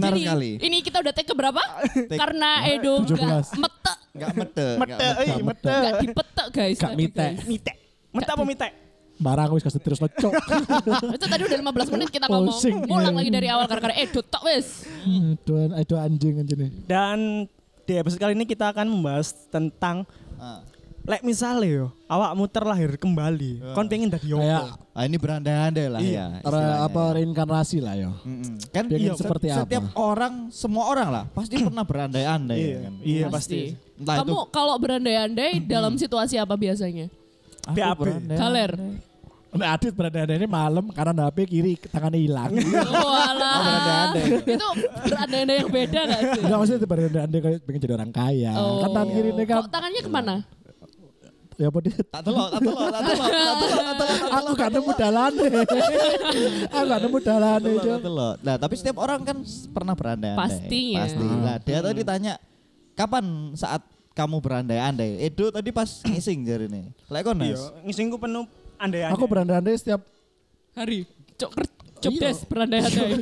Benar Jadi, sekali. ini kita udah take ke berapa? Karena Edo 17. Enggak mete. enggak dipetek guys. Gak tadi, mite. guys. Mite. Mete apa mite? Barang aku wis kasih terus lecok. Itu tadi udah 15 menit kita ngomong. Pusing. Mulang lagi dari awal gara-gara Edo tok wis. Aduh anjing nih. Dan di episode kali ini kita akan membahas tentang lek misalnya yo, awakmu terlahir kembali, kon pengen dadi Kayak opo? Ini berandai-andai lah ya. istilahnya. apa reinkarnasi lah yo. Kan Pengen seperti apa? Setiap orang, semua orang lah pasti pernah berandai-andai Iya, kan. iya pasti. Entah itu Kamu kalau berandai-andai dalam situasi apa biasanya? aku BAB. berandai-andai. Galer. Nah, Adit berada ini malam karena HP kiri tangannya hilang. Oh alah. Itu berandai-andai yang beda gak sih? Enggak maksudnya itu berada kayak pengen jadi orang kaya. Oh. Kan tangan kiri ini kan Kok tangannya kemana? ya apa dia? Tak telok. Aku gak nemu dalane. Aku gak nemu dalane. Cok. Nah, tapi setiap orang kan pernah berandai-andai. Pastinya. Pasti. Lah, dia tadi ditanya, kapan saat kamu berandai-andai? Edo tadi pas ngising jari nih. Lek kon Iya, Nas. ngisingku penuh andai-andai. Aku berandai setiap Hari. Job Iya. desk berandai-andai.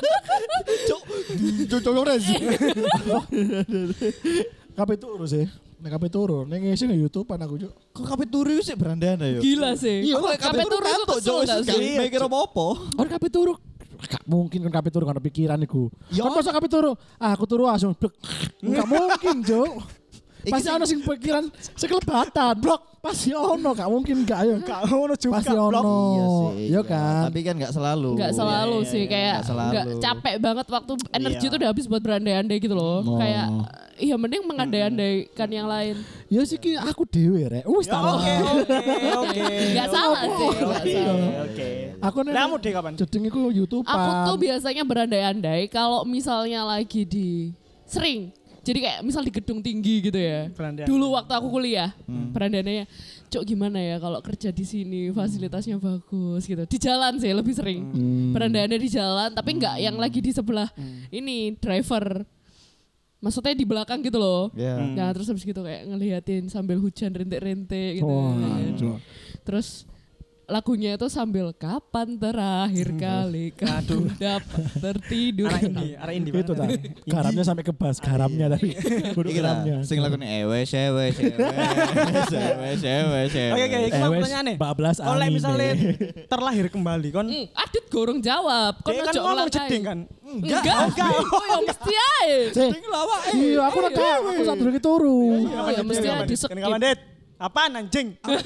Cocok res. kabeh turu sih. Nek kabeh turu, nek ngisi nang YouTube-an aku cuk. Kok kabeh turu sih berandai-andai yo? Gila sih. Iya, kok kabeh turu itu kantuk kesel Cok, gak wis sih? gak mikir apa-apa. Orang kabeh turu. Gak mungkin kan kabeh turu kan pikiran iku. Ya. Kan masa kabeh turu? Ah, aku turu langsung blek. Enggak mungkin, Cuk. Iki Pasti sing- ono sing pikiran sekelebatan, blok. Pasti ono, gak mungkin gak ayo. Gak ngono juga. Pasti Blok. ono. Iya sih. Iya iya. kan? Tapi kan gak selalu. Nggak selalu Iya, sih iya, kayak nggak selalu. nggak capek banget waktu energi Iya. itu udah habis buat berandai-andai gitu loh. Oh. Kayak iya mending mengandai-andaikan yang lain. Ya sih ki aku dhewe rek. Wis Ya, tak. Oke. Nggak salah sih. nggak salah. Oke. Aku nek Kamu deh kapan? jeding iku YouTube-an. Aku tuh biasanya berandai-andai kalau misalnya lagi di sering. Jadi kayak misal di gedung tinggi gitu ya. Berandai-andai. Dulu waktu aku kuliah, berandai-andainya, Cok gimana ya kalau kerja di sini fasilitasnya bagus gitu. Di jalan sih lebih sering. Berandai-andai di jalan, tapi nggak yang lagi di sebelah ini driver. Maksudnya di belakang gitu loh. Iya. Nah terus habis gitu kayak ngeliatin sambil hujan rintik-rintik gitu. Wah, kan. Cuk. Terus lagunya itu sambil kapan terakhir kali kamu dapat tertidur. Arah indi. Itu tak. Garamnya sampai ke bas, garamnya tapi kudu Iki lah, garamnya. sing lakone ewes. Oke, iku mau pertanyaane. bablas Kalau anime. misalnya terlahir kembali kon Adit gorong jawab. Kau dia kan ojo ngomong ngelangkai. jeding kan. Enggak. Oh ya mesti aja. Cek. Iya, aku udah tahu. Aku saat dulu turu. Oh ya mesti aja di skip. Kapan Det? Apaan anjing?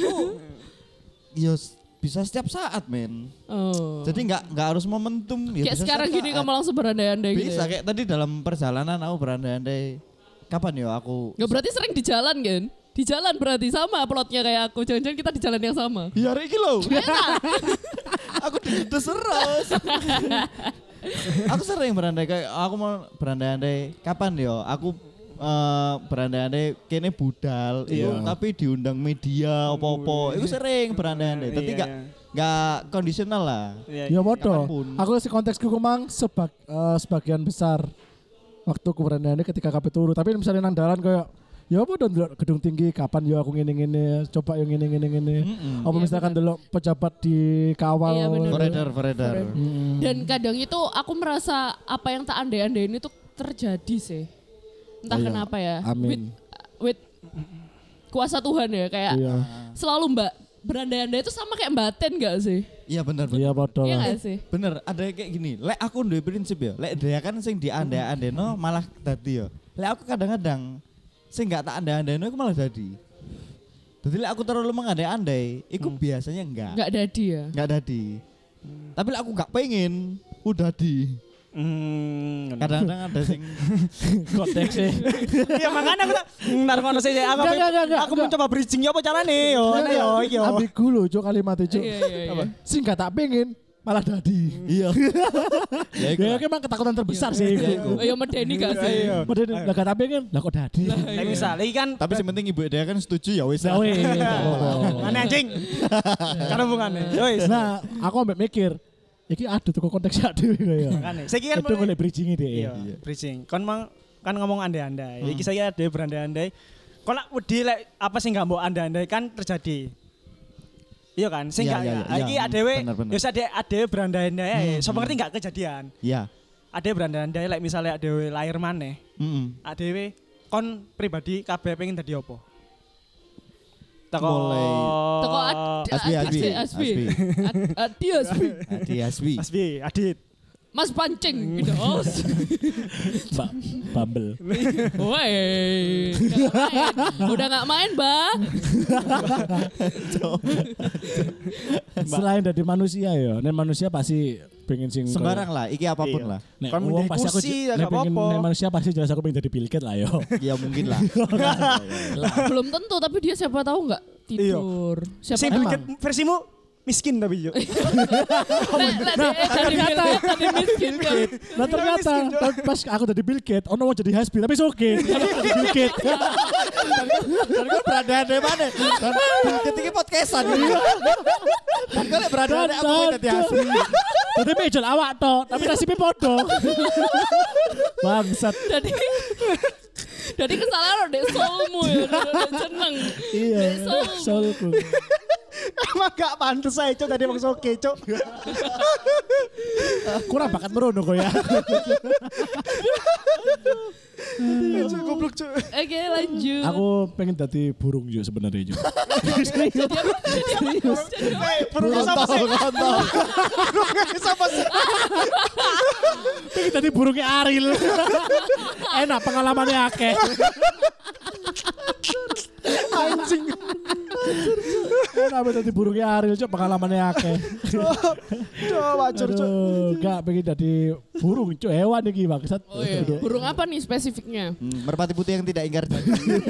Yo bisa setiap saat, men. Oh. Jadi nggak harus momentum. Ya Kayak bisa sekarang setiap gini saat. kamu langsung berandai-andai gitu. Bisa ya? kayak tadi dalam perjalanan aku berandai-andai. Kapan yo aku? Gak berarti sering di jalan kan? Di jalan berarti sama plotnya kayak aku. Jangan-jangan kita di jalan yang sama. Ya hari ini loh. Aku digedes terus. Aku sering berandai kayak aku mau berandai-andai. Kapan yo? Aku berandai-andai kene budal, itu tapi diundang media apa-apa. Itu sering berandai-andai. Tapi Iya, nggak kondisional lah. Ya bodoh. Kapanpun. Aku si konteksku kumang sebagian besar waktu aku berandai ketika kabeh turu. Tapi misalnya nang dalan kayak ya apa dong delok gedung tinggi kapan yo aku ngene-ngene coba yo ngene-ngene. Apa misalkan delok pejabat di kawal. Iya, bener. Beredar. Dan kadang itu aku merasa apa yang tak andai-andai ini tuh terjadi sih. Entah Iya. kenapa ya. Amin. With kuasa Tuhan ya kayak Iya. selalu mbak berandai-andai itu sama kayak batin gak sih? Iya benar. Iya bodoh. Iya gak sih? Bener, ada kayak gini. Lek aku duwe prinsip ya. Lek dia kan sing diandai-andeno malah dadi ya. Lek aku kadang-kadang sing gak tak andai-andeno iku malah dadi. Jadi lek aku terlalu mengandai-andai, iku biasanya enggak. Gak dadi ya? Enggak dadi. Tapi lek aku gak pengen, udah di. Kadang-kadang ada sing Konteksnya. Iya makanya aku tak ntar ngono sih aku Enggak. aku mencoba bridging ya apa carane yo. Ana yo iki yo. Ambigu lho cuk kalimatnya cuk. Iya. Sing gak tak pengen malah dadi. iya. Ya iku. Ya emang ketakutan terbesar sih. Oh ya medeni gak sih? Padahal lah gak tak pengen, lah kok dadi. Nek misal iki kan Tapi yang penting ibu dia kan setuju ya wis. Nah, weh. aneh anjing. Karena hubungannya. Yo wis. Nah, aku ambek mikir, iki aduh tuh konteksnya dhewe kaya. Makane. Saiki kan Itu golek bridging deh. iya, bridging. Kon mang kan ngomong andai-andai. Iki saya ada berandai-andai. Kon lak wedi lek apa sih enggak mbok andai-andai kan terjadi. Iya kan? Sing Iya, gak iya, iya. iki adewe Bener. ya adewe berandai-andai ae. So ngerti enggak kejadian. Iya. Ade berandai-andai like misalnya adewe lahir maneh. Adewe kon pribadi kabeh pengen dadi apa? Teko Asbi. Adit. Mas pancing gitu. Bumble. Woi. Udah enggak main, Mbak. Selain dari manusia ya, nen manusia pasti pengen sing sembarang lah, iki apapun lah. Nek Kon wong menjadi pasti aku kursi, ya nek gak pengen apa-apa. nek manusia pasti jelas aku pengen jadi Bill Gates lah yo. Ya mungkin lah. Belum tentu tapi dia siapa tahu enggak tidur. Sing Siapa Emang. Bill Gates versimu miskin tapi yo. tadi miskin kan. Nah ternyata pas aku jadi Bill Gates, ono mau jadi Hasbi tapi oke. Jadi Bill Gates. Dan gue berada di mana? Dan ketika podcastan. Dan gue berada di aku minta di Hasbi. Tapi mejol awak toh, tapi nasibnya podo. Bangsat. Jadi kesalahan dek soulmu ya, udah seneng. Iya, soulku. Emang gak pantes aja Cok tadi maksud oke Cok. Kurang bakat merono kok ya. Cok goblok Cok. Oke lanjut. Aku pengen jadi burung juga sebenarnya juga. Burung sama sih. Burung sama sih. Pengen jadi burungnya Ariel. Enak pengalamannya akeh. Anjing. Enak jadi burungnya Ariel cok pengalamannya akeh. Coba Cok. Gak pengen jadi burung cok hewan iki bangsat. Oh iya. Burung apa nih spesifiknya? Merpati putih yang tidak ingkar janji.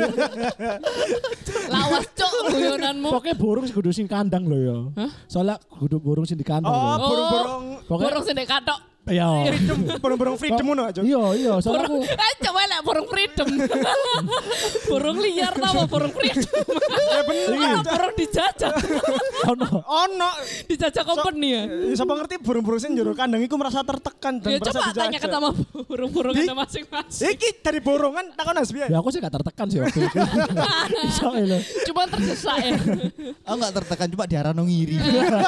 Lawas cok guyonanmu. Pokoknya burung kudu sing kandang loh ya. Soalnya kudu burung sing di kandang Oh, lho. burung-burung Pokoknya Burung sendek katok. iya. burung-burung freedom ngono Cok. Iya, soalnya aku Coba lah burung freedom. Burung liar tau burung freedom. Ya bener. Burung dijajah. ono. Ono. Dijajah company ya. Siapa ngerti burung-burung sing njero kandang iku merasa tertekan dan Ya merasa coba dijajah. tanyakan sama burung-burung Di- ada masing-masing. Iki dari borongan takon Hasbi. Ya aku sih gak tertekan sih waktu itu. Iso lho. Cuma terdesak ya. Aku gak tertekan cuma diarano ngiri.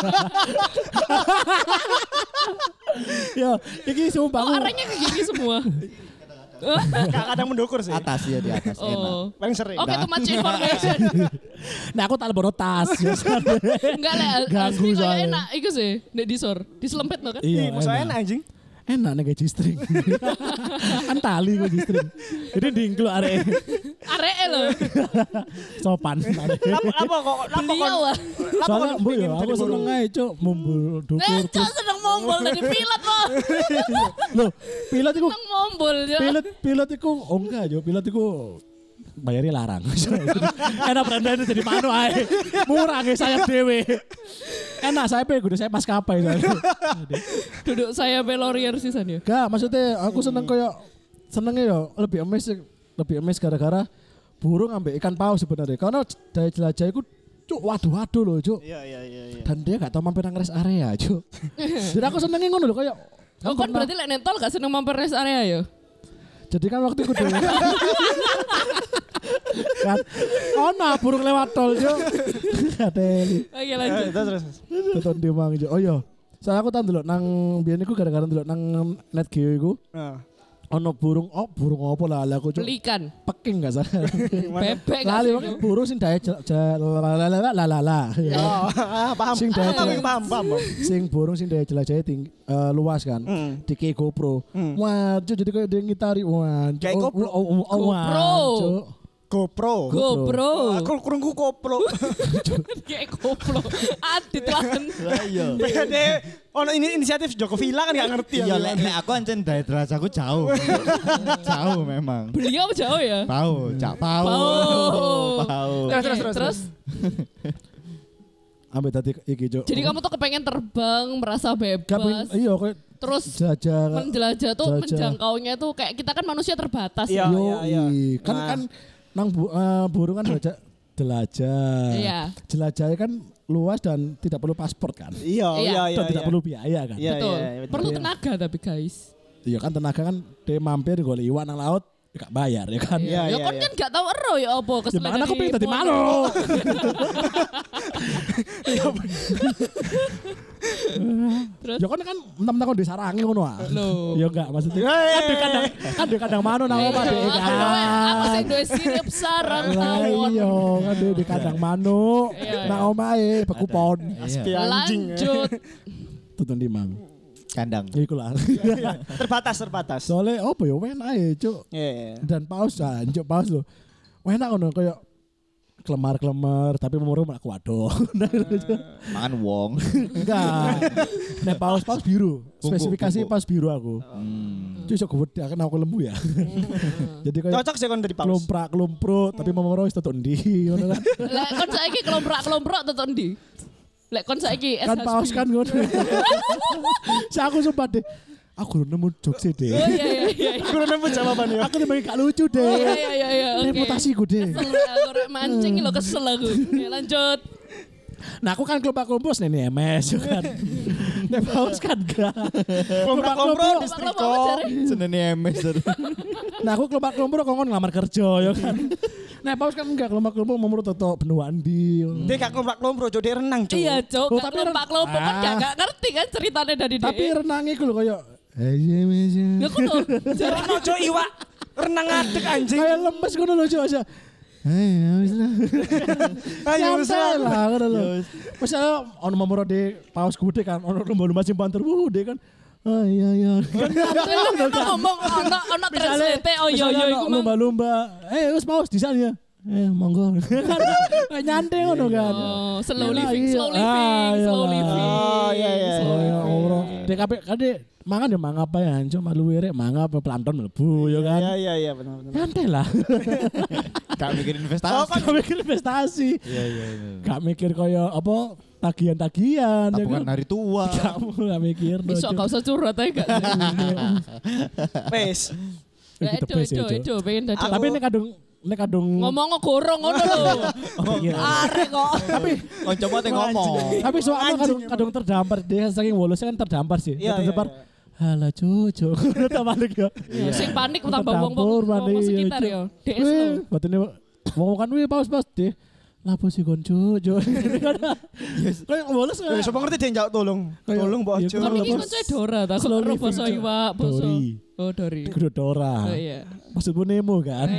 Ya, iki sumpah Oh aku. arahnya ke gini semua. Kadang mendukur sih. Atas ya di atas enak. Oh. Paling sering. Oke, too much information. Nah aku tak lebono tas. Enggak lah, Ganggu asli kayak soalnya. enak. Iku sih, nek disor, diselempet no kan? Iya, Maksudnya enak anjing. Enak nih kayak G-string. Kan tali gue G-string. Ini dingklo arek Areke lho. sopan. Apa kok? Beliau ah. Soalnya bu ya aku seneng aja cok mumbul dukur. Cok seneng mombol dari pilot loh. Loh pilot itu Seneng mombol ya. pilot itu oh enggak jo pilot itu bayarnya larang. Enak berandanya jadi manu ae. Murah nggih saya dewe. Enak saya kudu saya maskapai soalnya. Duduk saya pelorier sisan ya. Gak maksudnya aku seneng kayak senengnya ya lebih emes gara-gara burung ambek ikan paus sebenarnya. Karena daya jelajah itu cuk waduh loh cuk. Iya. Dan dia gak tau mampir nang rest area cuk. Jadi aku senengnya ngono loh kayak Oh kan berarti lek nentol gak seneng mampir rest area ya? jadi kan waktu itu dulu kan nah burung lewat tol cuk. Kateli. Oke lanjut. Terus. Teton di mang cuk. Oh iya. Saya aku tahu dulu nang biyen iku gara-gara dulu nang net geo iku. Ono burung apa lah aku cuk. Belikan. Peking gak salah. Bebek gak Lali sih? wae burung sing daya la. Oh, paham. Sing daya Paham. sing burung sing daya jelajahnya tinggi luas kan. Dike GoPro. Wah, cuk jadi kayak dia ngitari. Wah, Kayak GoPro. GoPro. GoPro. Aku kurungku koplo. Kayak GoPro. Adit lah. Lah iya. Bede ono ini inisiatif Joko Villa kan gak ngerti Iya, ya. lek aku ancen daya aku jauh. Jauh memang. Beliau jauh ya? Pau. Terus. Ambil tadi iki cuk. Jadi kamu tuh kepengen terbang, merasa bebas. Iya kayak Terus jelajah. menjelajah tuh Jelajah. menjangkaunya tuh kayak kita kan manusia terbatas. Iya. Yo, kan nang burung kan jelajah. Iya. Jelajahnya kan luas dan tidak perlu paspor kan. Iya. Dan tidak perlu biaya kan. Iya. Betul. betul. Perlu tenaga tapi guys. Iya kan tenaga kan dia mampir golek iwak nang laut gak bayar ya kan. Iya. Ya kan kan gak tahu ero ya apa Ya kesalahan. mana aku pengen tadi malu. Terus? Ya kan enam-enam di sarangi ngono ah. Loh. Ya enggak maksudnya. Kan di kandang mano nang omah dhek kan. Aku sing duwe sirip sarang Lah tawon. iya kan di kandang manuk Iya, nang omahe bekupon. Aspi anjing. Lanjut. Tutun di mang. Kandang. Ya iku lah. Terbatas. Soalnya apa ya enak ya cuk. Iya. Dan paus anjuk paus lho. Enak ngono kayak kelemar-kelemar tapi memuru aku waduh. Mangan wong. Enggak. Nek paus biru. Spesifikasi bungkuk. paus biru aku. Cuy sok gede kan aku lembu ya. Jadi kayak Cocok sih kon dari paus. kelomprak tapi memuru wis tetok ndi ngono kan. Lek kon saiki kelomprak tetok ndi? Lek kon saiki Kan paus kan ngono. Saya aku sumpah deh. Aku nemu jokes deh. Oh iya. Aku udah nemu jawabannya. Aku timbang gak lucu Oh deh. iya. Oke. Reputasiku deh. Kesel aku rek mancing lo kesel aku. Ya, lanjut. Nah aku kan kelompok-kelompok nih MS kan. Nek paus kan gak. Kelompok-kelompok Kelompok distriko. apa jare? Senene MS. Nah aku kelompok-kelompok kongkon ngelamar kerja ya kan. Nek paus kan enggak kelompok-kelompok mau tetep benuan di. Dia gak kelompok-kelompok, Cuk, dia renang, Cuk. Iya, Cuk. Oh, Gak tapi kelompok kan gak ngerti kan ceritanya dari Tapi dia. renang iku lho kayak Ya kudu. Jare Renang, Cuk, iwak. Renang ngadeg anjing. kayak lemes ngono lho Cuk aja. Wis lah. Ayo wis Santai lah. lah ngono lho. Misalnya ono momoro di paus gede kan ono lomba-lomba simpan terbude kan. Oh iya. Kan ngomong ana translate oh iya iku mah. lomba-lomba. Wis paus di sana ya. Monggo. Nyantai ngono kan. Oh, slow Iya, living, iya. slow living, iya slow lah. living. Oh, iya. Oh ya Allah. DKP kade mangan ya mangan apa ya cuma malu wirek mangan apa plankton mlebu ya kan. Iya, benar. Nyantai lah. Gak mikir investasi. Gak mikir investasi. Iya. Gak mikir kaya apa tagihan-tagihan. ya Tabungan kan. hari tua. Kamu gak mikir. Iso gak usah curhat ae gak. Wes. Ya itu pengen dadi. Tapi ini kadung ngomong gorong ngono lho. iya. Arek kok. Tapi Kancamu teh ngomong. tapi soalnya kadung terdampar dia saking wolosnya kan terdampar sih. Iya, Terdampar. Halah cucu. Udah balik ya. Sing panik tambah Terdampur, wong panik, sekitar iya, ya. DS lho. Batine wong kan paus deh. Lapo sih kon cucu. Kayak wolos Wes, sopo ngerti dia njawab tolong. Tolong, Mbok Iya, Ojo. Kon iki koncoe Dora ta, Slow kok ro living, basa Cuk. iwak, basa. Dori. Oh, Dori. Kudu Dora. Oh iya. Maksudmu Nemo kan?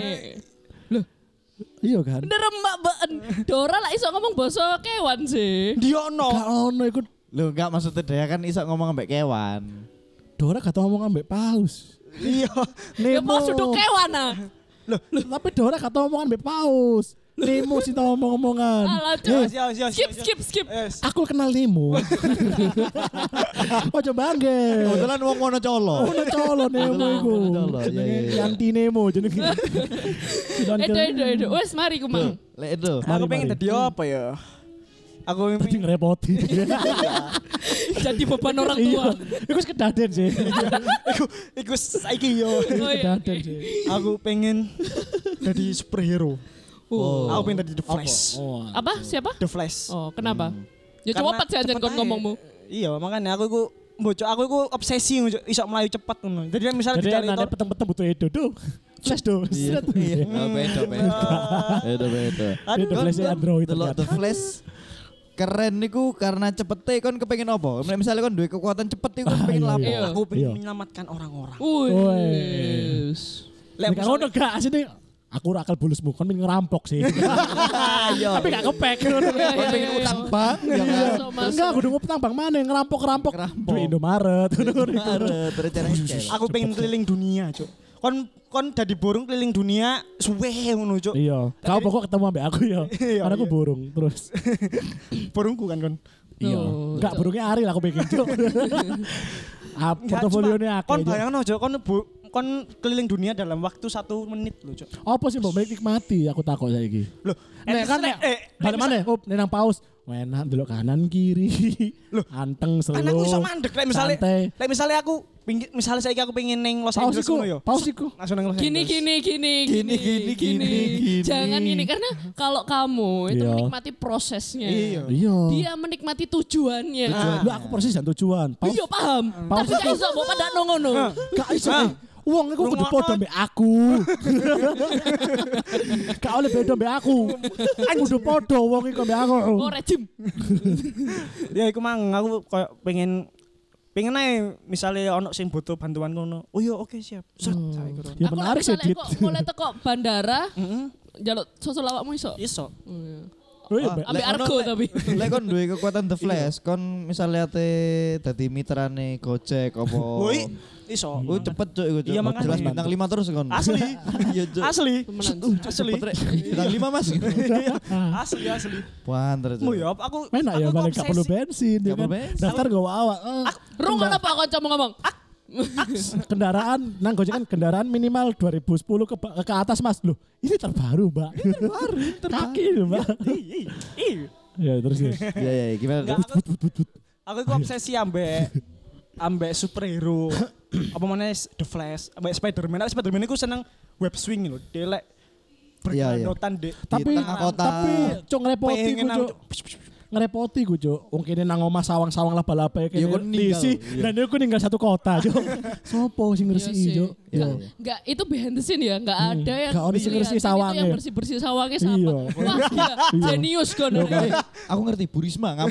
Iya kan? Bener mbak been. Dora lah iso ngomong basa kewan sih. Diono. Gak ono ikut Lho enggak maksudnya dia kan iso ngomong ambek kewan. Dora kata ngomong ambek paus. Iya. Ya pas duduk kewan ah. Loh, tapi Dora kata ngomong ambek paus. Nemo sih tau ngomong-ngomongan. Alah, Cuk. Siap. Skip. Yes. Aku kenal Nemo. Ojo bangga. Kebetulan wong ngono colo. Ono colo Nemo iku. Colo, iya, Jenenge iya. Yanti Nemo jenenge. Edo. Wes mari ku mang. Lek itu. Aku Mari. pengen tadi apa ya? Aku Tadi pengen ngerepoti. Jadi beban orang tua. Iya. Iku kedaden sih. iku saiki yo. Oh iya. Kedaden sih. Aku pengen jadi superhero. Oh. Aku pengen jadi The Flash. Oh. Apa? Siapa? The Flash. Oh, kenapa? Ya Karena coba sih anjen cepet kon aja. ngomongmu. Iya, makanya aku iku obsesi iso melayu cepat ngono. Jadi misalnya Jadi dicari nanti peteng-peteng butuh Edo tuh. Flash tuh. Iya. Beda. Beda. Itu Flash Android Delok ternyata. The Flash keren niku karena cepete kon kepengin apa? Misalnya kon duwe kekuatan cepet iku kon pengen Iya, lapo? iya. Aku pengen Iya. menyelamatkan orang-orang. Wis. Nek ngono gak asine aku ora akal bulusmu kon pengen ngerampok sih. Ayo. Tapi gak kepek. Kon pengen utang bank ya kan? Enggak, kudu ngutang bang mana ngerampok. Ngerampok. Duit Indomaret. Arep rencana Aku pengen keliling dunia, Cuk. Kon dadi burung keliling dunia suwe ngono, Cuk. Iya. Kau pokok ketemu ambek aku ya. Iya, Karena aku iya. burung terus. Burungku kan kon. Iya. Oh, Enggak burungnya Ari lah aku pengen cuk. Enggak, Portofolionya cuma akeh. Kon bayangno, Cuk, kon keliling dunia dalam waktu 1 menit lho, Cuk. Apa sih mbok nikmati aku takut saiki. Loh, Nek kan nek balik mana? Oh, nek nang paus. Enak delok kanan kiri. Loh, Anteng kan slow. aku iso mandek lek misale santai. aku misalnya saya aku pengen neng Los Paus Angeles iku, ngono yo. paus iku. Langsung neng Los Gini. Angeles. Gini. Jangan gini karena kalau kamu itu Iya. menikmati prosesnya. Iya. Iya. Dia menikmati tujuannya. Lu aku persis dan tujuan. Paus Iya paham. Paus Tapi gak iso mbok pada ngono. gak iso. Wong iku kudu padha mbek aku. Gak oleh beda mbek aku. Kudu padha wong iku mbek aku. Oh rejim. Ya iku mang aku koyo pengen ae misalnya ono sing butuh bantuan ngono. Oh iya oke siap. Set saya iku. Ya Aku menarik sih, misalnya Dit. kok mulai teko bandara, Heeh. jaluk susul awakmu iso. Iso. Oh, iya. Oh iya, Mbak. Ambek argo tapi. Lek kon duwe kekuatan The Flash, kon misalnya ate dadi mitrane Gojek apa. Woi, iso. Oh cepet cuk iku cuk. Iya, makanya. Jelas bintang 5 terus kon. Asli. Iya cuk. Asli. Temenan. Asli. Cepet rek. Bintang 5 Mas. Asli. Panter cuk. Mu ya aku Enak ya, aku malah gak perlu obsesi. bensin. Ya Gak perlu kan? bensin. Daftar gak awak. Rungan apa kanca ngomong? Kendaraan, nang Gojek kan kendaraan minimal 2010 ke atas Mas. Loh, ini terbaru Mbak. Ini terbaru. Kaki loh Mbak. Iya. Ya terus ya. Iya gimana Enggak, tuh? aku iku obsesi ambek superhero. Apa mana The Flash, ambek Spider-Man. Spider-Man iku seneng web swing lho. Dia lek Iya, iya. berkelanjutan di Tapi tengah kota. tapi cok ngerepoti pengen ku cok. Ngerepoti gue cok. Wong kene nang omah sawang-sawang laba-laba Ya, kene kon ninggal. diisi Iya. dan aku ninggal satu kota cok. Sopo sing Iya ngresiki sih. cok. Iya. Enggak, itu behind the scene ya, enggak ada yang Gak ada sing kelihatan. bersih Itu sawangnya. yang bersih-bersih sawangnya siapa? Iya. Wah, gila. Jenius kan. Aku ngerti Bu Risma ngamuk.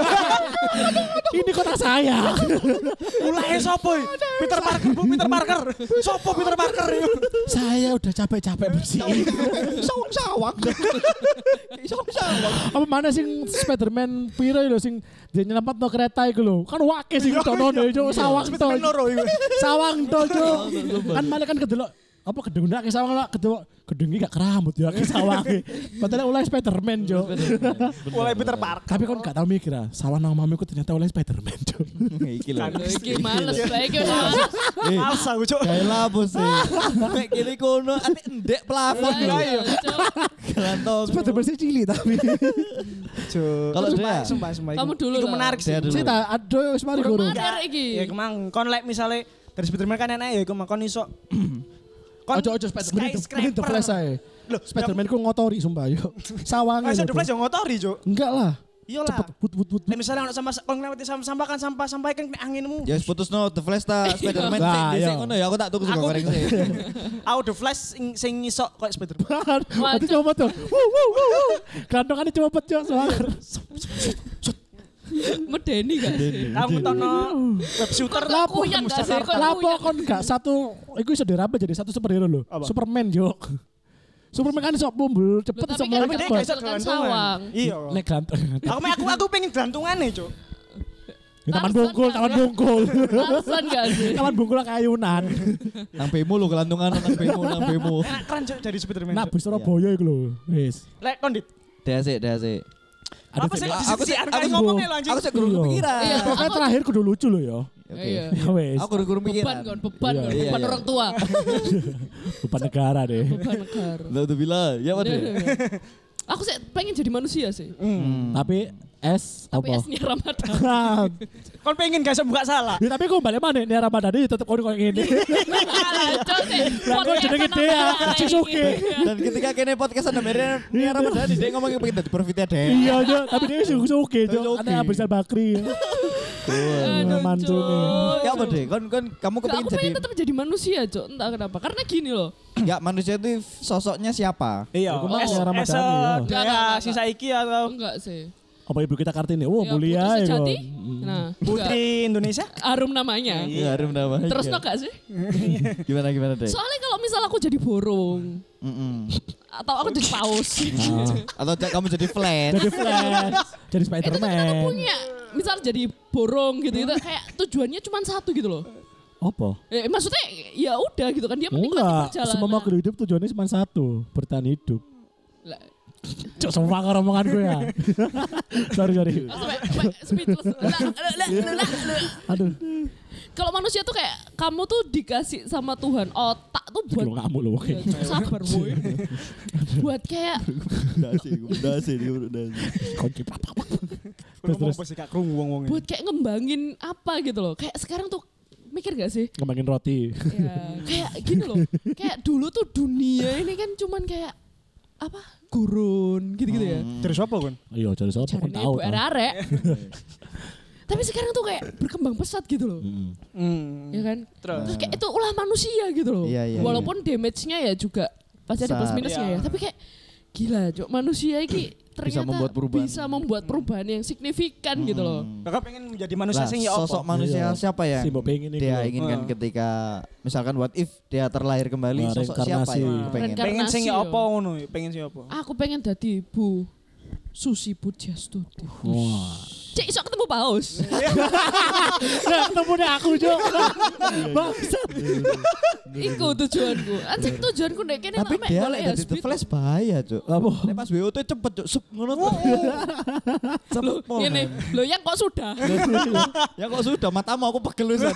Ini kota saya. mulai sopo? Peter Parker, Bu Peter Parker. Sopo Peter Parker itu? Saya udah capek-capek bersihin. Sawang-sawang. Sawang-sawang. Apa mana sing Spiderman piro lho sing dia nyelametno kereta iku lho. Kan wake sing dono cok sawang to. Spider-Man loro iku. Sawang to cok. Kan malah kan kedelok apa gedung ndak ke sawang lah kedelok gedung iki gak keramut ya ke sawang. Padahal oleh Spiderman cok. Mulai Peter Parker. Tapi kon gak tau mikir ah, sawang nang mamiku ternyata oleh Spiderman cok. Iki lho. Iki males, iki udah males. Males aku, Cuk. Kayak lapo sih. Mek kene kono ate ndek plafon lho. Ayo, Cuk. Gantong. Spiderman sih cilik tapi. Kalau dia Sumpah. Kamu dulu Itu lah. menarik sih. Dia dulu. Sita aduh wis mari Kurang guru. ajar iki. Ya kemang kon lek misale dari Spiderman kan enak ya iku kon iso. Ojo Spiderman mending The Flash ae. Loh, Spiderman ku ngotori sumpah yo. Sawange. Masa lho, The Bro. Flash yang ngotori, Cuk. Enggak lah. Iyalah. Cepet put. Lek misalnya ono sampah kon ngelewati sampah kan sampah kan kena anginmu. Ya wis putusno The Flash ta Spider-Man Nah, sing iya. dhisik ngono ya aku tak tuku sego Aku- goreng sih. Aku The Flash sing iso koyo Spiderman. Nanti coba tuh. Kantongane cepet cok soalnya. Medeni gak sih? Aku tono web shooter Lapo yang gak sih? Kok Lapo kuyang? kon gak satu, iku iso dirambah jadi satu superhero lho. Apa? Superman jok. Superman kan iso bumbul cepet Loh, iso tapi kan mulai gak cepet. iso kan sawang. Iya. Nek ganteng. Aku pengen gantungane, Cuk. Taman Alasan bungkul, gak taman sih? bungkul. Alasan gak sih? Taman bungkul kayunan. Nang bemo lho kelantungan nang bemo. Keren, Cuk, dari Spiderman. Nah, Cuk. bis Surabaya iku lho. Wis. Lek kondit. Dasik. Apa sih aku sih- aku aku- ngomongnya lo anjing. Aku sih guru Iya. kepikiran. Iya. Pokoknya terakhir kudu lucu lho ya. Oke. Iya. Ya wis. Aku guru Beban pikiran. kan, beban Iya. kan, Iya, beban iya. orang tua. Beban negara deh. Beban negara. Lah tuh bilang, ya apa deh? Aku sih pengen jadi manusia sih. Tapi es Tapi apa? esnya Ramadan. Kon pengen gak buka salah. Ya, tapi kok balik mana nih Ramadan ini tetep kono koyo ngene. Lah kok jenenge dia sing suke. Dan ketika kene podcast ada Merian, ini Ramadan dia ngomongin pengen dadi profitnya deh. Iya aja, tapi dia sing suke Suke. jo. Ada Abu Rizal Bakri. Aduh, Mantul nih. Cuk. Ya apa deh? Kamu Aku kepengin jadi pengen tetap jadi manusia, Cok. Entah kenapa. Karena gini loh. ya manusia itu sosoknya siapa? Iya. Aku mah Es- ya Ramadan, es- iya. Enggak, Dea enggak. si saiki atau Enggak sih. Apa ibu kita Kartini? Oh, Ya, mulia Putri ya. Sejati. Kon. Nah, enggak. Putri Indonesia? Harum namanya. Iya, harum namanya. Terus no gak sih? Gimana deh? Soalnya kalau misal aku jadi burung atau aku jadi paus. Atau kamu jadi flash? Jadi Flash, jadi Itu kan aku Spiderman. punya misal jadi burung gitu kayak tujuannya cuma satu gitu loh. Apa? Maksudnya ya udah gitu kan dia menikmati Enggak, perjalanan. semua makhluk hidup tujuannya cuma satu, bertahan hidup. Lah, Cuk, semua omongan gue ya. sorry. speechless. Lah. Aduh, Kalau manusia tuh kayak kamu tuh dikasih sama Tuhan otak tuh buat lu ngamuk lu. Ya, Cuk, sabar boy. Buat kayak Dasi. Kunci. Ngomong apa sih Kak krungu wong-wong. buat kayak ngembangin apa gitu loh. Kayak sekarang tuh mikir gak sih? Ngembangin roti. Ya, kayak gini loh. Kayak dulu tuh dunia ini kan cuman kayak apa? Gurun gitu-gitu ya. Terus apa kan? Iya, jadi siapa kan Jarine tahu. ibu arek. Tapi sekarang tuh kayak berkembang pesat gitu loh. Ya kan? Terus kayak itu ulah manusia gitu loh. Iya, iya, Walaupun damage-nya ya juga pasti ada plus Besar. minusnya ya. Tapi kayak gila, Cok, manusia ini ternyata bisa membuat perubahan yang signifikan gitu loh. Kakak pengen menjadi manusia Lah, sing ya apa? sosok manusia Iya. siapa yang Si mbok pengen iku. dia inginkan ketika misalkan what if dia terlahir kembali, Nah, sosok siapa reinkarnasi. yang kepengen? Pengen sing ya Reinkarnasi, apa yo. ngono? Pengen sing apa? Aku pengen jadi Bu Susi Pujastuti. Wah. Cek iso ketemu paus. Nah, ketemu deh aku, Cok. Bangsat. Iku tujuanku. Anjing tujuanku nek kene Tapi mek dia golek lek dadi hasbi The Flash bahaya, Cuk. Apa? Nek pas WO tuh cepet, Cuk. Sup ngono tuh. Cepet pol. Ngene, lho yang kok sudah. Ya kok sudah matamu aku pegel wis.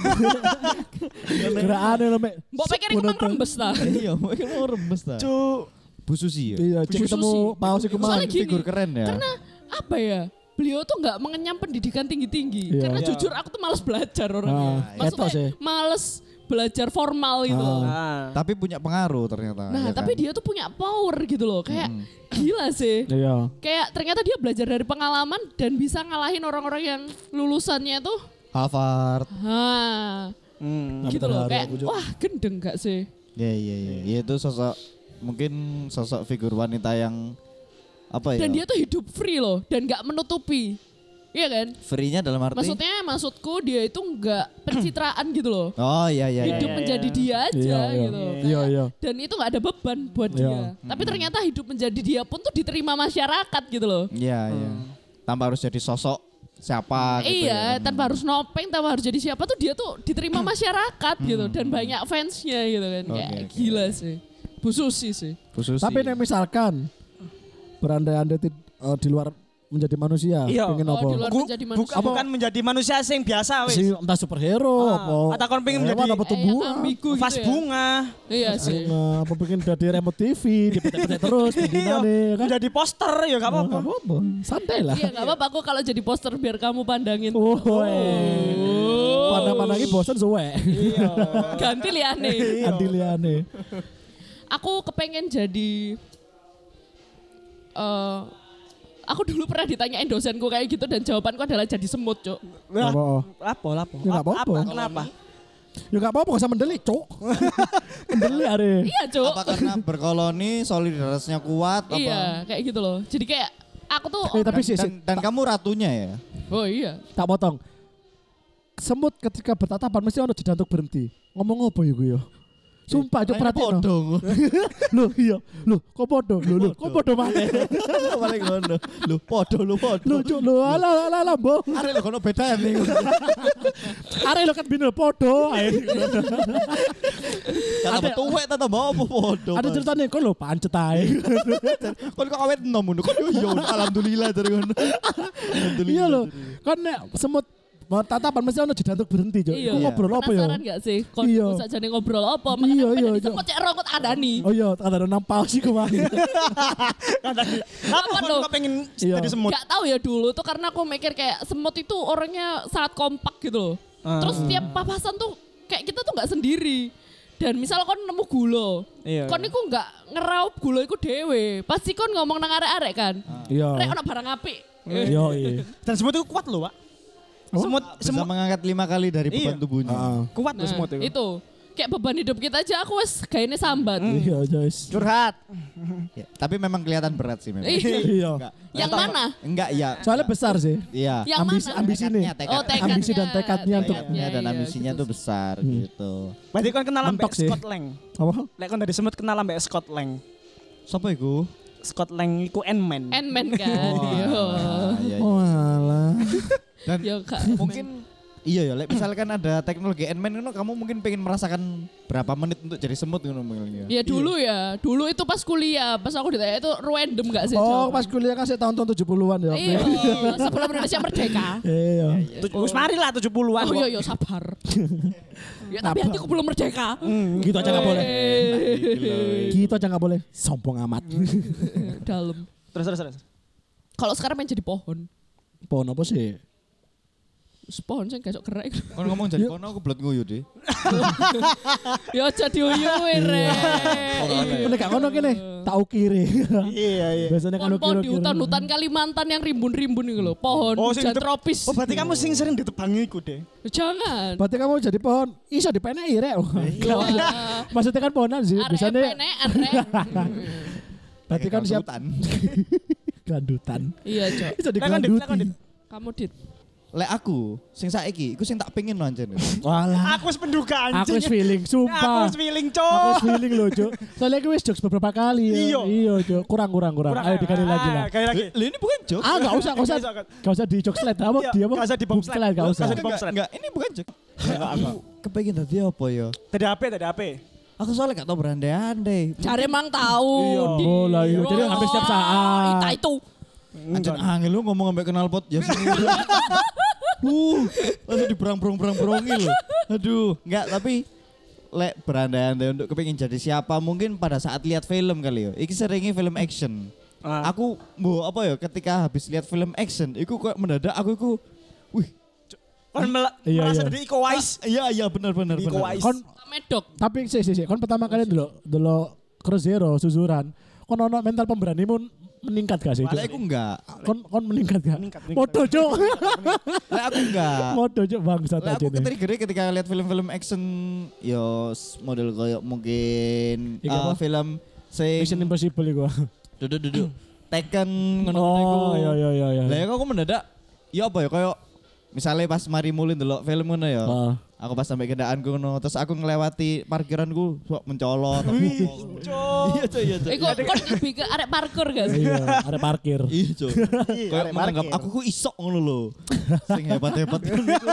Gerakannya lo, Mek. Mbok pikir iku mang rembes ta. Iya, mungkin mau rembes ta. Cuk. Bu Susi ya. Iya, Bu cek ketemu Susi. paus iku mah. Soalnya gini, Figur keren ya. Karena apa ya? Beliau tuh nggak mengenyam pendidikan tinggi-tinggi. Iya. Karena Iya. jujur aku tuh males belajar orangnya. Ah, etos ya. Males belajar formal gitu loh. Nah. Tapi punya pengaruh ternyata. Nah, ya tapi kan? dia tuh punya power gitu loh. Kayak gila sih. Iya. Kayak ternyata dia belajar dari pengalaman dan bisa ngalahin orang-orang yang lulusannya tuh Harvard. Tapi gitu loh. terharu Kayak aku, Cok. wah gendeng gak sih? Iya iya iya. Ya itu sosok mungkin sosok figur wanita yang apa ya? Dan dia tuh hidup free loh dan gak menutupi. Iya kan? Free-nya dalam arti Maksudku dia itu nggak pencitraan gitu loh. Oh iya iya. Hidup iya. menjadi dia aja Iya, iya. gitu. Iya, iya. Dan itu nggak ada beban buat Iya. dia. Tapi ternyata hidup menjadi dia pun tuh diterima masyarakat gitu loh. Iya iya. Tanpa harus jadi sosok siapa gitu Iya, ya. tanpa harus nopeng, tanpa harus jadi siapa tuh dia tuh diterima masyarakat gitu dan banyak fansnya gitu kan. Kayak Oke. gila sih. Bu Susi sih. Khusus Tapi nek misalkan berandai-andai di luar menjadi manusia, Iya. pengen Oh, apa? di luar menjadi manusia. Bukan menjadi manusia sing biasa wis. Si entah superhero apa. Atau kon pengen hewan menjadi apa tumbuhan. ambigu gitu vas ya. bunga. Iya sih. Apa pengen jadi remote TV, dipetek-petek terus, Iya, pembinane kan. menjadi poster ya gak apa-apa. Nggak apa-apa. Santai lah. Iya nggak apa-apa aku kalau jadi poster biar kamu pandangin. Oh, pandang-pandangi bosan suwe. Iya. Ganti liane. Andiliane. Aku kepengen jadi aku dulu pernah ditanyain dosenku kayak gitu dan jawabanku adalah jadi semut, Cuk. Lah, Apa? Lapo. Ya nggak apa-apa. Kenapa? Ya enggak apa-apa, gak usah mendelik, Cuk. Mendelik are. Iya, Cuk. apa karena berkoloni solidaritasnya kuat apa? Iya, kayak gitu loh. Jadi kayak aku tuh Tapi sih, Dan kamu ratunya ya? oh iya. tak potong. Semut ketika bertatapan mesti ono jeda untuk berhenti. Ngomong apa ya gue ya? Sumpah, Cuk, perhatiin. Loh, iya. Loh, kok podo? Loh, kok podo maneh? Paling ngono. Lu podo. Loh, Cuk, loh, ala, mbok. Arek lho kono beda nih. Are lo kan bino podo ae. Kata tuwek ta tambah apa podo. Ada ceritanya kok lo pancet ae. Kon kok awet enom ngono. Kon yo alhamdulillah dari ngono. Iya loh. Kan nek semut mau tatapan mesti ono jeda untuk berhenti, Cuk. Iya. Iku ngobrol apa ya? Penasaran gak sih? Kon Iya. sakjane ngobrol apa? Iya, Makanya iya, iya, Cuk. cek rokot adani. Oh iya, ada nampal sih kemarin. Apa loh? kok pengen Iya. jadi semut? Gak tahu ya dulu tuh karena aku mikir kayak semut itu orangnya sangat kompak gitu loh. Terus setiap papasan tuh kayak kita tuh nggak sendiri. Dan misal kon nemu gula, Iya. kon iku nggak ngeraup gula iku dewe. Pasti kon ngomong nang arek-arek kan. Iya. Rek ono barang apik. Iya, iya. Dan semut itu kuat loh, Pak. Semut Bisa semut mengangkat 5 kali dari beban Iya. tubuhnya. kuat loh semut itu. Itu kayak beban hidup kita aja aku wes kayaknya sambat. Iya, guys. Curhat. Ya, tapi memang kelihatan berat sih memang. Iya. Enggak. Yang mana? Enggak ya. Soalnya besar sih. Iya. Yang Ambisi mana? ambisi nih. Oh, tekadnya. Ambisi dan tekadnya untuk Tekadnya dan Iya, ambisinya gitu. tuh besar gitu. Berarti kon kenal Mentok ambek sih. Scott Lang. apa? Lek kon dari semut kenal ambek Scott Lang. Siapa iku? Scott Lang iku Ant-Man. Ant-Man kan. Yo. Iya, iya. Oh alah. Dan Yo Kak. mungkin iya ya, like, misalkan ada teknologi Ant-Man ngono, kamu mungkin pengen merasakan berapa menit untuk jadi semut ngono mungkin. Ya dulu ya, dulu itu pas kuliah, pas aku ditanya itu random gak sih? Oh, jawaban? pas kuliah kasih tahun-tahun 70-an ya. Iya, sebelum Indonesia merdeka. Iya. Wis mari lah 70-an. Oh iya, sabar. Ya tapi hatiku belum merdeka. Gitu aja nggak boleh. Eh, Gitu aja nggak boleh. Sombong amat. Dalam. Terus. Kalau sekarang pengen jadi pohon. Pohon apa sih? Pohon sing gesok gerak. Kon ngomong jadi kono aku blet nguyu deh. Ya aja diuyuwi rek. Nek gak ngono kene, tak ukiri. Iya. Biasanya kan Pohon di ukir-ukir. hutan-hutan Kalimantan yang rimbun-rimbun itu loh. Pohon Oh, sing hujan ditep- tropis. Oh, berarti kamu sing sering ditebangi iku deh. Jangan. Berarti kamu jadi pohon, iso dipeneki rek. Wah, Maksudnya kan pohonan sih, arek biasanya penekan rek. berarti kan siap Hutan. gelandutan. Iya, Cok. Iso Lakon, Dit, lakon, Dit. digelanduti. Kamu dit. Lek aku sing saiki iku sing tak pengen no anjen. Walah. Aku wis penduga Aku anjing. wis feeling, Aku sumpah. wis feeling, Aku Cok. wis feeling loh, Cuk. Soalnya aku wis jokes beberapa kali. Ya. Iya. Iya, Cuk. Kurang. Ayo dikali lagi lah. Kali lagi. Lah ini bukan joke. Enggak usah. Enggak usah di jokes slide. Apa Iya, dia apa? nggak usah di bom slide. Enggak usah. Nggak usah di bom slide. Enggak, ini bukan joke. Aku kepengen tadi apa ya? Tadi apa? Aku soalnya gak tau berandai-andai. Cari emang tahu. Iya. Dit. Oh lah iya. Jadi hampir setiap saat. Itu. Anjen angel lu ngomong sampai kenal pot ya sih. Langsung diberang-berong-berong-berongi loh. Aduh, enggak tapi lek berandai-andai untuk kepengin jadi siapa mungkin pada saat lihat film kali ya. Iki seringnya film action. Aku apa ya ketika habis lihat film action, iku kok mendadak aku iku wih, Kon Iya, merasa iya. dari Iko Uwais. iya benar. Iko Uwais. Kon Medok. tapi sih. Kon pertama kali dulu Cross Zero susuran. Kon ono mental pemberanimu meningkat gak sih? Cuk? Lek aku enggak. Kon meningkat gak? Meningkat. Modo, Cuk. Lek aku enggak. Modo, Cuk, bangsat Lek aja aku nih. ketrigger ketika lihat film-film action yo model kayak mungkin Iki apa? film sing Mission Impossible iku. duduk Tekken ngono-ngono iku. Oh, iya. Lah aku mendadak ya apa ya kayak misalnya pas mari mulai ndelok film ngono ya. Heeh. Aku pas sampai kendaanku ngono terus aku ngelewati parkiranku sok mencolot. Iya cuy. Iku kon lebih ke arek parkur gak sih? Iya, ada parkir. Iya cuy. Kayak arek menganggap parkir. aku ku isok ngono lho. Sing hebat-hebat ngono iku.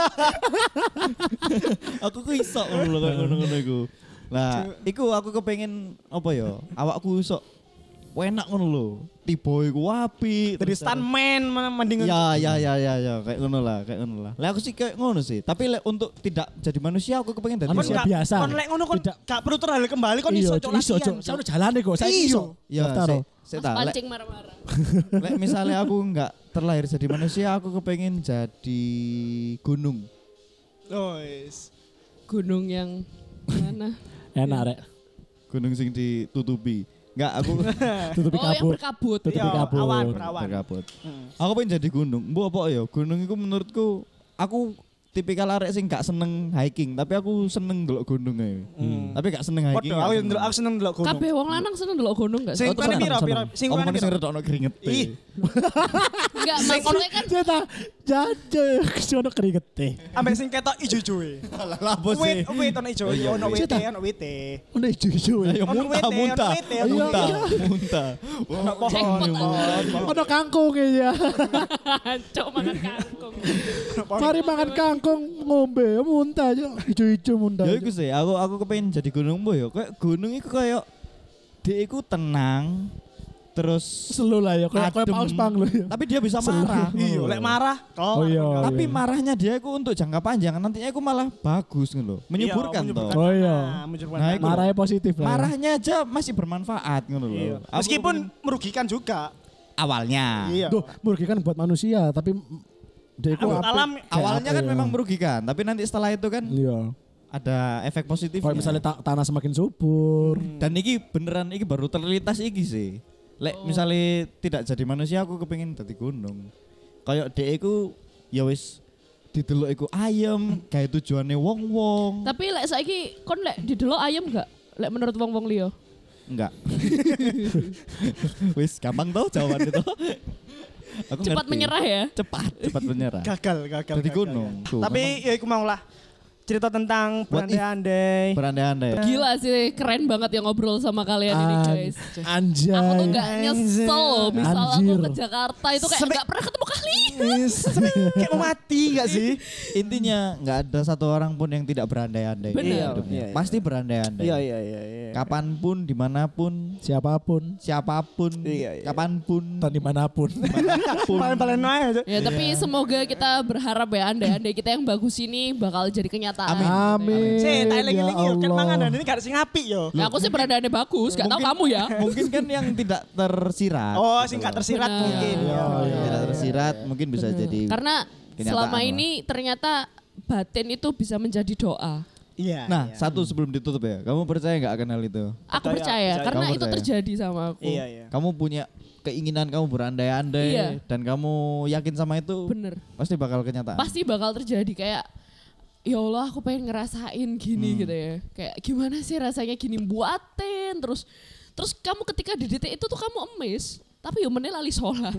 Aku ku isok ngono lho kayak ngono-ngono iku. Lah, iku aku kepengen apa ya? Awakku isok enak ngono lho. Tiba iku apik. Dari terus stuntman mending Ya, kayak ngono lah. Lah aku sih kayak ngono sih. Tapi lek untuk tidak jadi manusia aku kepengen jadi Manusia manusia. biasa. Kon lek ngono kon Tidak. gak perlu terhal kembali kon Iya, iso Cuk, cok iso, Cuk. Saya udah jalan deh kok. Saya iso. Ya, Daftar, oh. saya Mas tak. pancing marah-marah. Lek misalnya aku enggak terlahir jadi manusia, aku kepengen jadi gunung. Oh, yes. Gunung yang mana? Enak, Rek. Gunung sing ditutupi. Enggak, aku Tutupi Oh, yang kabut. berkabut. Tutupi Iya, kabut. awan, berawan. berkabut. Aku pengen jadi gunung. Mbok apa ya? Gunung itu menurutku aku tipikal arek sing gak seneng hiking, tapi aku seneng ndelok gunung ae. Tapi gak seneng hiking. Podo, aku seneng ndelok gunung. Kabeh wong lanang seneng ndelok gunung gak sih? Sing kurang piro? Sing kurang Omongane sing piro? retokno keringet. Ih. Enggak, maksudnya kan Ceta, jajan, sono keringetnya. Ambek sing ketok ijo-ijo e. Lah bos sih. Wait ono ijo, iya, ono iya. wit. Udah hijau-hijau ya. Ayo Ono muntah. wite, ono wite. Muntah. Ono pohon. jackpot. Ada kangkung ya. Cok makan kangkung. Mari makan kangkung ngombe, muntah aja. Hijau-hijau muntah. Ya iku sih, aku kepengen jadi gunung mbok ya. Kayak gunung iku kayak dia iku tenang terus Selu lah ya, kayak adem. paus pang lo ya. Tapi dia bisa marah. Iya, lek marah. Oh iya. Tapi iya. marahnya dia iku untuk jangka panjang, nantinya iku malah bagus ngono. Menyuburkan toh. Oh iya. Nah, iku Marahnya positif lah. ya. Marahnya aja masih bermanfaat ngono Iya. loh. Aku Meskipun kepengen- merugikan juga. awalnya. Iya. Duh, merugikan buat manusia, tapi dia itu Alam Awalnya kan ya? memang merugikan, tapi nanti setelah itu kan Iya. ada efek positif. Kalau misalnya tanah semakin subur. Dan iki beneran iki baru terlintas iki sih. Lek misalnya tidak jadi manusia aku kepengin dadi gunung. Kayak dhek iku ya wis didelok iku ayem, gawe tujuane wong-wong. Tapi lek saiki kon lek didelok ayam gak? Lek menurut wong-wong liya. Enggak. Wis gampang tau jawaban itu. Aku Cepat ngerti. menyerah ya. Cepat menyerah. gagal. Jadi gunung. Tuh, Tapi ya iku mau lah. Cerita tentang What if? berandai-andai. berandai-andai. Gila sih, keren banget ya ngobrol sama kalian ini guys. Anjay. Aku tuh gak nyesel loh, misal aku Anjir. ke Jakarta itu kayak Sampai- gak pernah ketemu kali. Kayak mau mati gak sih? Intinya nggak ada satu orang pun yang tidak berandai-andai. Bener. di hidupnya. Iya. Pasti berandai-andai. iya. Kapanpun, dimanapun, Siapapun, siapapun, Iya. kapanpun, dan dimanapun. Paling-paling aja. Ya tapi semoga kita berharap ya andai-andai kita yang bagus ini bakal jadi kenyataan. Amin. Sih, tak Ya eling-eling yo. Kan Allah. mangan dan ini gak sing apik yo. Ya aku sih berandai-andai bagus, gak tahu kamu ya. Mungkin kan yang tidak tersirat. Oh, gitu sing gak loh. tersirat Benar. mungkin. Iya, Iya. Yang tidak tersirat mungkin bisa jadi. Karena selama lah. ini ternyata batin itu bisa menjadi doa. Iya. Nah, iya. satu sebelum ditutup ya. Kamu percaya nggak akan hal itu? Aku Percaya, percaya percaya. karena Kamu itu percaya? terjadi sama aku. Iya, iya. Kamu punya keinginan, kamu berandai-andai Iya. dan kamu yakin sama itu Bener. pasti bakal kenyataan. Pasti bakal terjadi kayak ya Allah aku pengen ngerasain gini gitu ya. Kayak gimana sih rasanya gini buatin terus kamu ketika di detik itu tuh kamu emes. Tapi yo meneh lali sholat.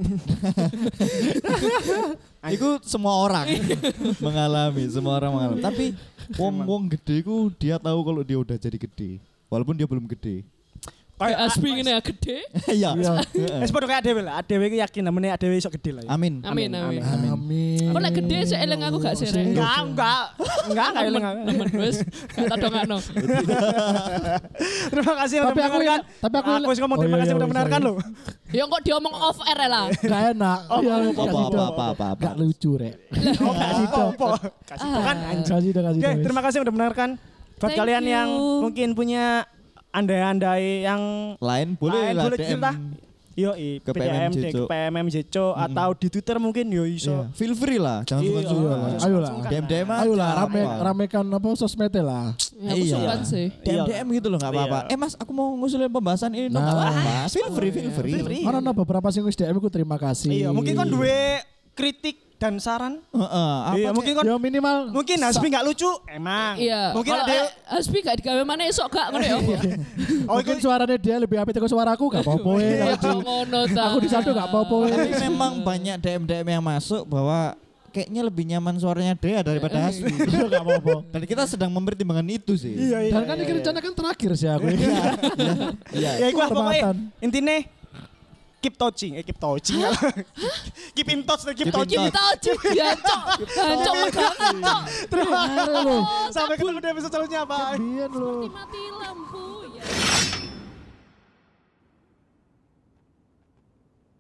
Itu semua orang mengalami, semua orang mengalami. Tapi wong gede ku dia tahu kalau dia udah jadi gede, walaupun dia belum gede. Kayak Asbi ngene ya gede. Iya. Wis padha kayak dhewe lah. Dhewe iki yakin namanya dhewe iso gede lah. Ya. Amin. Amin amin. Amin. Kok nek gede sik eling aku gak serek. Enggak eling aku. Temen wis gak tadongakno. Terima kasih udah Tapi aku mendengarkan. tapi aku Aku wis ngomong terima Oh, kasih iya, udah iya, mendengarkan iya. lo. Ya kok diomong off air lah. Gak enak. Iya, Apa. Gak lucu rek. Oh, kasih topo. Kasih topo kan anjing. Kasih dah kasih. Oke, dah, terima kasih udah mendengarkan. Buat Thank kalian you. yang mungkin punya andai-andai yang Lain boleh lah boleh DM. cerita. Yo, Ke PDM, PMM Jeco. ke PMM Jeco atau di Twitter mungkin yo iso. Iya. Feel free lah, jangan Iya, sungkan-sungkan. iya. Ayolah. DM Ayolah aja, apa. ramekan apa sosmednya lah. Ya aku Iya. sungkan sih. DM gitu loh, nggak apa-apa. Iya. Mas, aku mau ngusulin pembahasan ini dong, nggak Nah. apa-apa. Feel free. Feel free. Karena ada beberapa sing wis DM ku terima kasih. Iya, mungkin kan duwe kritik dan saran. Heeh, apa Iya, mungkin kan Ya minimal mungkin Hasbi enggak lucu, emang. Iya. Mungkin Kalau ada Asbi gak digawe mana esok gak ngono ya. oh mungkin itu suaranya dia lebih apik dari suaraku gak apa-apa Iya ya. kok ngono ta. Aku di satu gak apa-apa ya. Tapi memang banyak DM yang masuk bahwa kayaknya lebih nyaman suaranya Dea daripada Hasbi. Iya gak apa-apa. Dan kita sedang mempertimbangkan itu sih. Dan kan ini rencana kan terakhir sih aku. Iya. ya iku lah pokoknya Hormatan. intine keep touching. Keep in touch, keep Keep in touching. Kita aja jancok. Jancok megangan cok. Terima kasih. Sampai ketemu di episode selanjutnya, bye. Biar lo. Mati lampu.